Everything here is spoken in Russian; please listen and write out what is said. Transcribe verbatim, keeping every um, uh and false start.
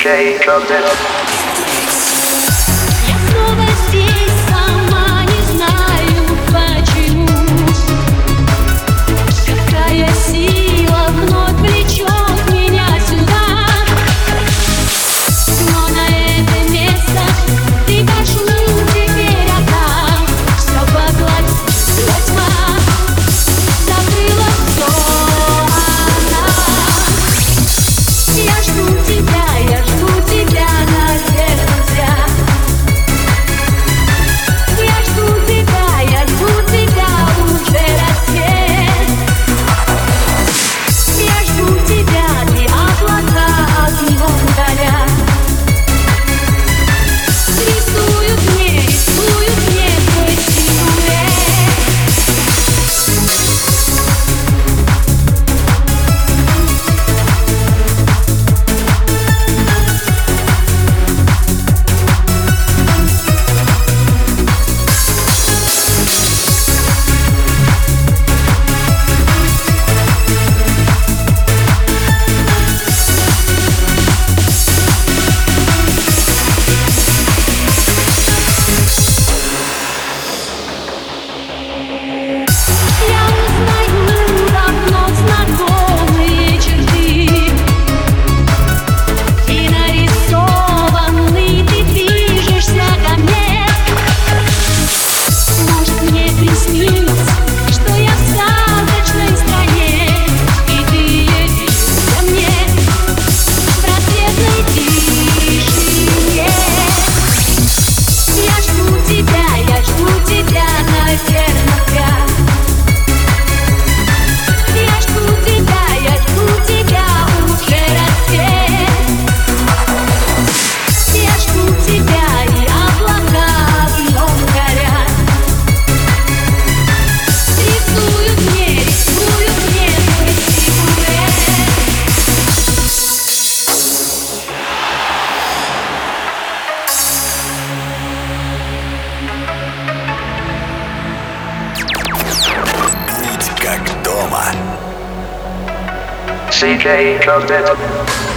Джей Коптер. Я снова здесь, сама не знаю почему. Какая сила вновь влечет меня сюда. Но на это место прикажу теперь отдам. Все поглотила тьма, закрыла все она. Я жду тебя, я жду тебя, наверное, зря. Я жду тебя, я жду тебя, уже рассвет. Я жду тебя, ты облака огнем горят. Рисуют мне, рисуют мне твой силуэт. Я узнаю давно знакомые черты, и нарисованный ты движешься ко мне. Может, мне приснится, что я в сказочной стране, и ты едешь ко мне в рассветной тишине. Я жду тебя, я жду тебя, наверное, зря. Я жду тебя, я жду тебя, уже рассвет. Я жду тебя, и облака огнем горят. Рисуют мне, рисуют мне твой силуэт. Будь как дома. Си Джей Коптер.